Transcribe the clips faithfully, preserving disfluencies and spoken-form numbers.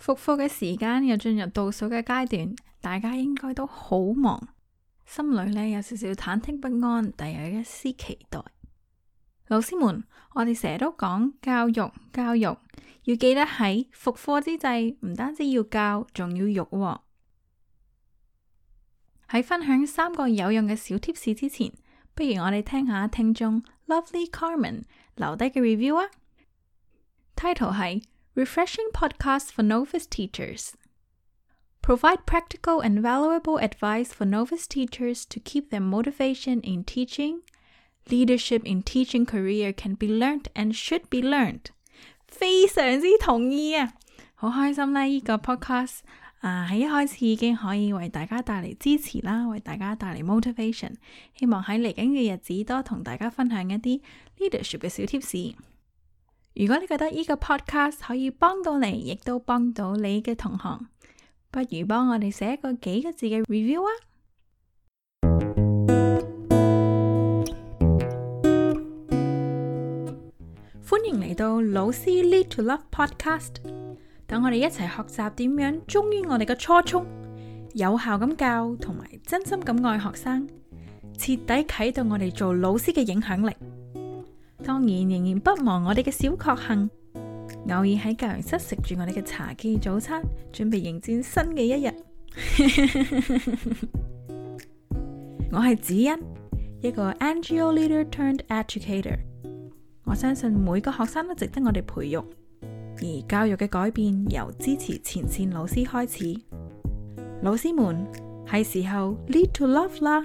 復課嘅時間又進入倒數嘅階段，大家應該都好忙，心裏呢有少少忐忑不安，但有一絲期待。老師們，我哋成日都講教育，教育要記得喺復課之際，唔單止要教，仲要育喎。喺分享三個有用嘅小貼士之前，不如我哋聽下聽眾 Lovely Carmen 留低嘅 review 啊。Title 係 Refreshing Podcast for Novice Teachers. Provide practical and valuable advice for novice teachers to keep their motivation in teaching. Leadership in teaching career can be learned and should be learned. 非常之同意啊！好開心呢，呢個 podcast 啊喺一開始已經可以為大家帶嚟支持啦，為大家帶嚟 motivation。希望喺嚟緊嘅日子多同大家分享一啲 leadership 嘅小貼士。如果你覺得呢個 podcast 可以幫到你，亦都幫到你嘅同行，不如幫我哋寫一個幾個字嘅 review 啊！歡迎嚟到老師 Lead to Love Podcast， 等我哋一齊學習點樣忠於我哋嘅初衷，有效咁教同埋真心咁愛學生，徹底啟動我哋做老師嘅影響力。當然仍然不忘我哋嘅小確幸，偶爾喺教研室食住我哋嘅茶記早餐，準備迎戰新嘅一日。我係子欣，一個 N G O leader turned educator。我相信每個學生都值得我哋培育，而教育嘅改變由支持前線老師開始。老師們，係時候 lead to love 啦！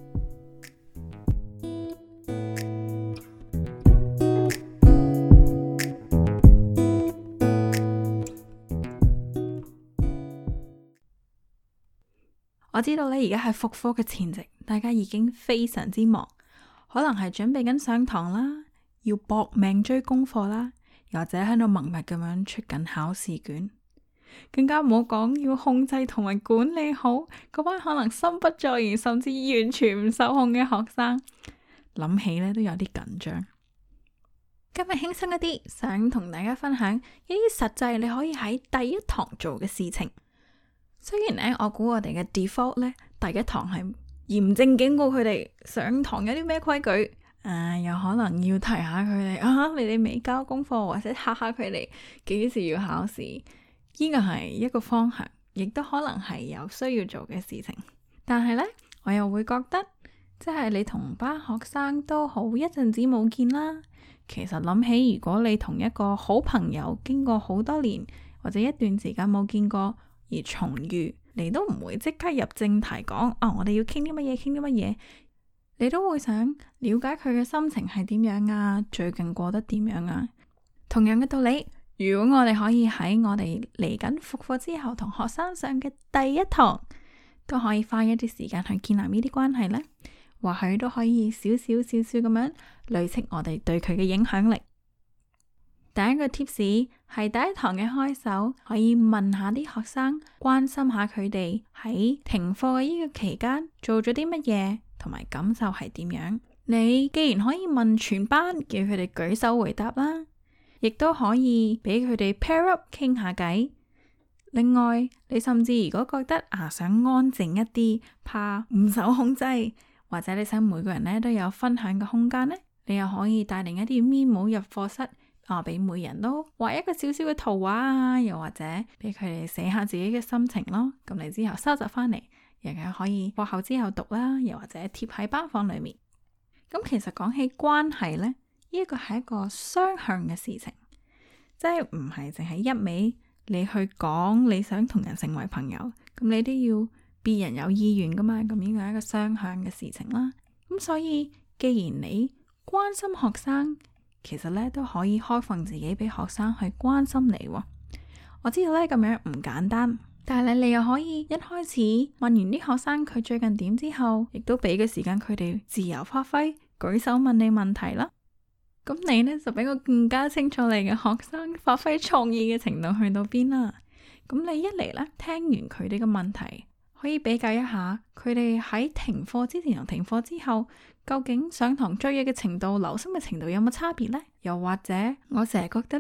我知道你而家係復課嘅前夕，大家已經非常之忙，可能係準備緊上堂啦，要搏命追功課啦，又或者喺度默默咁樣出緊考試卷，更加唔好講要控制同埋管理好嗰班可能心不在焉甚至完全唔受控嘅學生，諗起呢都有啲緊張。今日輕鬆一啲，想同大家分享一啲實際你可以喺第一堂做嘅事情。雖然呢，我估我哋嘅 default 呢，第一堂係嚴正警告佢哋上堂有啲咩規矩。誒、呃，有可能要提下佢哋啊，你哋未交功課，或者嚇下佢哋幾時要考試，呢個係一個方向，亦都可能係有需要做嘅事情。但係呢，我又會覺得，即係你同班學生都好一陣子冇見啦。其實諗起，如果你同一個好朋友經過好多年或者一段時間冇見過而重遇，你都唔會即刻入正題講啊，我哋要傾啲乜嘢，傾啲乜嘢。你都會想了解佢嘅心情係點樣啊，最近過得點樣啊？同樣嘅道理，如果我哋可以喺我哋嚟緊復課之後同學生上嘅第一堂，都可以花一啲時間去建立呢啲關係呢，或許都可以少少少少咁樣累積我哋對佢嘅影響力。第一個 tips 係第一堂嘅開首，可以問下啲學生，關心下佢哋喺停課嘅呢個期間做咗啲乜嘢，同埋感受係點樣。你既然可以問全班，叫佢哋舉手回答啦，亦都可以俾佢哋 pair up 傾下偈。另外，你甚至如果覺得啊想安靜一啲，怕唔受控制，或者你想每個人咧都有分享嘅空間呢，你又可以帶定一啲 memo 入課室。啊！俾每人都畫一個小小嘅圖畫啊，又或者俾佢哋寫下自己嘅心情咯。咁你之後收集翻嚟，亦係可以課後之後讀啦，又或者貼喺班房裏面。咁其實講起關係呢，呢一個係一個雙向嘅事情，即係唔係淨係一味你去講你想同人成為朋友，咁你都要別人有意願噶嘛。咁呢個係一個雙向嘅事情啦。咁所以既然你關心學生，其實咧都可以開放自己俾學生去關心你。我知道咧咁樣唔簡單，但係你又可以一開始問完啲學生佢最近點之後，亦都俾個時間佢哋自由發揮，舉手問你問題啦。咁你呢，就俾我更加清楚你嘅學生發揮創意嘅程度去到邊啦。咁你一嚟呢，聽完佢哋嘅問題，可以比較一下佢哋喺停課之前同停課之後，究竟上堂追嘢嘅程度、留心嘅程度有冇差別呢？又或者我成日覺得呢，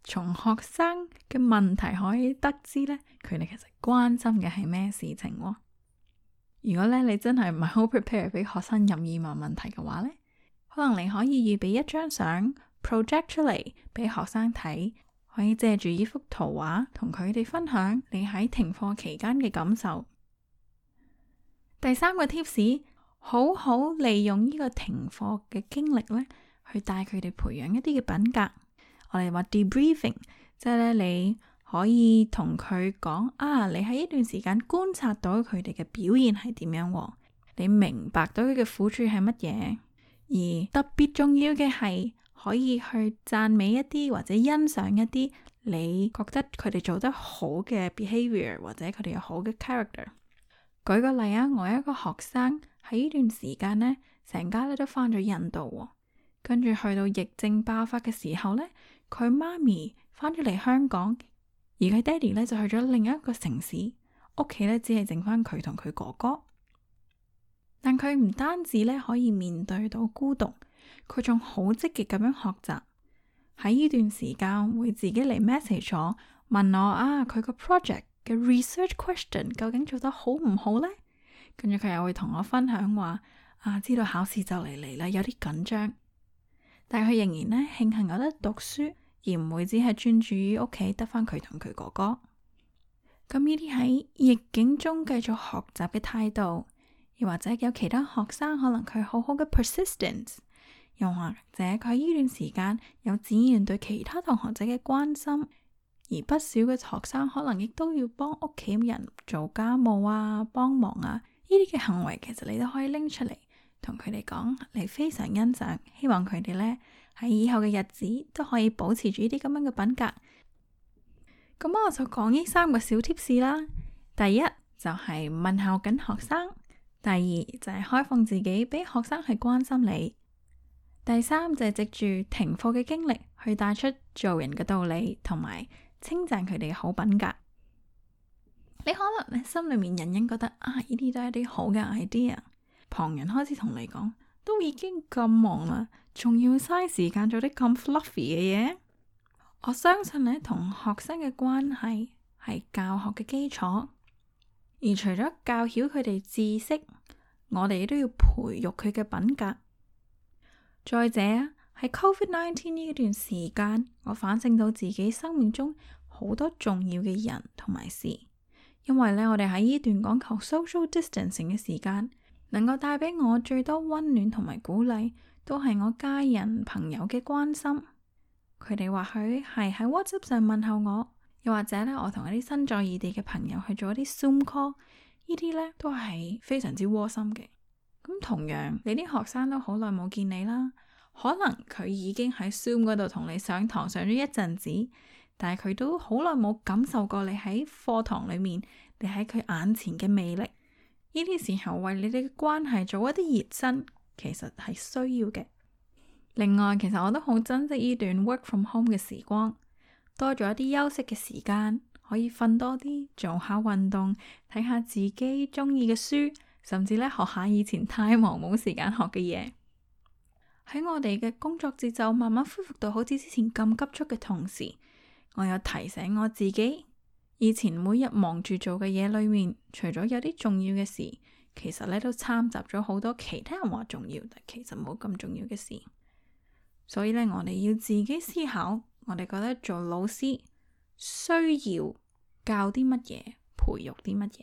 從學生嘅問題可以得知呢，佢哋其實關心嘅係咩事情喎。如果咧你真係唔係好 prepare 俾學生任意問問題嘅話呢，可能你可以預備一張相 project 出嚟俾學生睇，可以借住呢幅圖畫同佢哋分享你喺停課期間嘅感受。第三個 tips， 好好利用呢個停課嘅經歷呢，去帶佢哋培養一啲嘅品格。我哋話 debriefing， 即係咧你可以同佢講啊，你喺呢段時間觀察到佢哋嘅表現係點樣，你明白到佢嘅苦處係乜嘢，而特別重要嘅係可以去讚美一啲或者欣賞一啲你覺得佢哋做得好嘅 behavior 或者佢哋有好嘅 character。舉個例啊，我有一個學生喺呢段時間呢，成家咧都返咗印度，跟住去到疫症爆發嘅時候呢，佢媽咪返咗嚟香港，而佢爹哋呢就去咗另一個城市，屋企呢只係剩翻佢同佢哥哥。但佢唔單止呢可以面對到孤獨，佢仲好積極咁樣學習。喺呢段時間會自己嚟 message 我，問我啊，佢個 project 嘅 research question 究竟做得好唔好呢？跟住佢又會同我分享話啊，知道考試就嚟嚟啦，有啲緊張，但係佢仍然呢慶幸有得讀書，而唔會只係專注於屋企得翻佢同佢哥哥。咁呢啲喺逆境中繼續學習嘅態度，又或者有其他學生可能佢好好嘅 persistence， 又或者佢喺呢段時間有展現對其他同學仔嘅關心，而不少嘅學生可能亦都要幫屋企人做家務啊、幫忙啊，呢啲嘅行為其實你都可以拎出嚟同佢哋講，你非常欣賞，希望佢哋呢喺以後嘅日子都可以保持住呢啲咁樣嘅品格。咁我就講呢三個小 tips 啦。第一就係問候緊學生，第二就係開放自己俾學生去關心你，第三就係藉住停課嘅經歷去帶出做人嘅道理，同埋稱讚佢哋嘅好品格。你可能咧心裏面隱隱覺得啊，呢啲都係啲好嘅 idea， 旁人開始同你講，都已經咁忙啦，仲要嘥時間做啲咁 fluffy 嘅嘢。我相信咧，同學生嘅關係係教學嘅基礎，而除咗教曉佢哋知識，我哋都要培育佢嘅品格。再者喺 covid nineteen 呢段時間，我反省到自己生命中好多重要嘅人同埋事，因為咧我哋喺呢段講求 social distancing 嘅時間，能夠帶俾我最多溫暖同埋鼓勵，都係我家人朋友嘅關心。佢哋或許係喺 WhatsApp 上問候我，又或者咧我同一啲身在異地嘅朋友去做一啲 Zoom call， 呢啲咧都係非常之窩心嘅。咁同樣，你啲學生都好耐冇見你啦，可能佢已經喺 Zoom 嗰度同你上堂上咗一陣子，但係佢都好耐冇感受過你喺課堂裏面，你喺佢眼前嘅魅力。呢啲時候為你哋嘅關係做一啲熱身，其實係需要嘅。另外，其實我都好珍惜呢段 work from home 嘅時光，多咗一啲休息嘅時間，可以瞓多啲，做下運動，睇下自己中意嘅書，甚至咧學下以前太忙冇時間學嘅嘢。喺我哋嘅工作節奏慢慢恢復到好似之前咁急促嘅同時，我又提醒我自己，以前每日忙住做嘅嘢裏面，除咗有啲重要嘅事，其實咧都摻雜咗好多其他人話重要，但其實冇咁重要嘅事。所以咧，我哋要自己思考，我哋覺得做老師需要教啲乜嘢，培育啲乜嘢。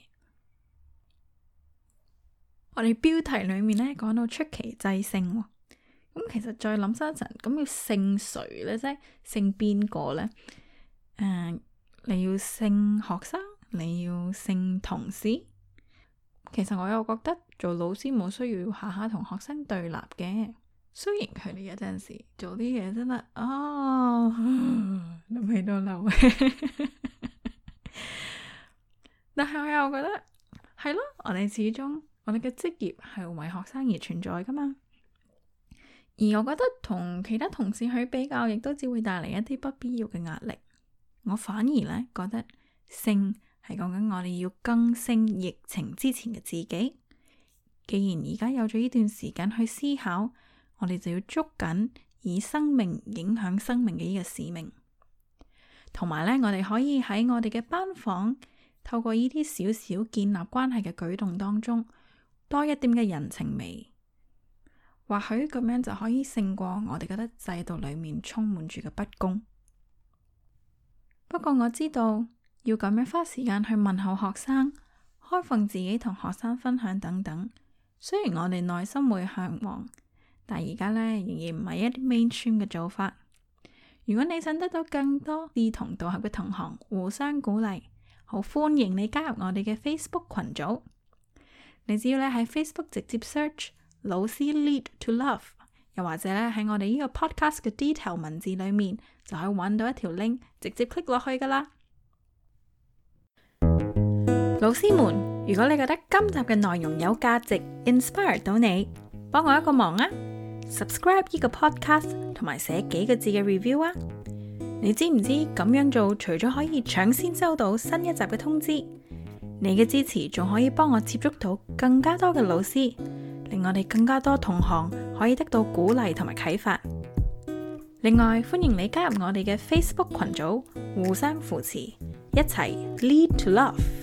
我哋標題裏面咧講到出奇制勝，咁其實再諗深一層，咁要勝誰呢？即係勝邊個呢？誒、呃，你要勝學生，你要勝同事。其實我又覺得做老師冇需要下下同學生對立嘅。雖然佢哋有陣時做啲嘢真係哦，諗起都流，但係我又覺得係咯，我哋始終我哋嘅職業係為學生而存在噶嘛。而我覺得同其他同事去比較，亦都只會帶嚟一啲不必要嘅壓力。我反而呢覺得勝係講緊我哋要更勝疫情之前嘅自己。既然而家有咗呢段時間去思考，我哋就要捉緊以生命影響生命嘅呢個使命。 同埋呢，我哋可以喺我哋嘅班房透過呢啲少少建立關係嘅舉動當中，多一點嘅人情味。或許咁樣就可以勝過我哋覺得制度裏面充滿住嘅不公。不過我知道要咁樣花時間去問候學生，開放自己同學生分享等等，雖然我哋內心會向往，但而家呢，仍然唔係一啲 mainstream 嘅做法。如果你想得到更多志同道合嘅同行互相鼓勵，好歡迎你加入我哋嘅 Facebook 群組。你只要咧喺 Facebook 直接 search 老師 Lead to Love， 又或者咧喺我哋呢個 podcast 嘅 detail 文字裏面就可以揾到一條 link，直接 click 落去噶啦。老師們，如果你覺得今集嘅內容有價值 inspire 到你，幫我一個忙啊， subscribe 呢個 podcast 同埋寫幾個字嘅 review 啊。你知唔知咁樣做除咗可以搶先收到新一集嘅通知，你嘅支持仲可以幫我接觸到更加多嘅老師，令我哋更加多同行可以得到鼓勵同埋啟發。另外，歡迎你加入我哋嘅 Facebook 群組，互相扶持，一齊 Lead to Love。